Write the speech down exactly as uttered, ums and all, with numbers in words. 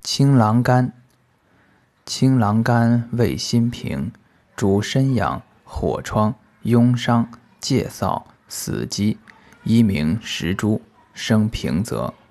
青狼肝，青狼肝味辛平，主身痒、火疮、痈伤、疥疣、死肌，一名石珠，生平泽。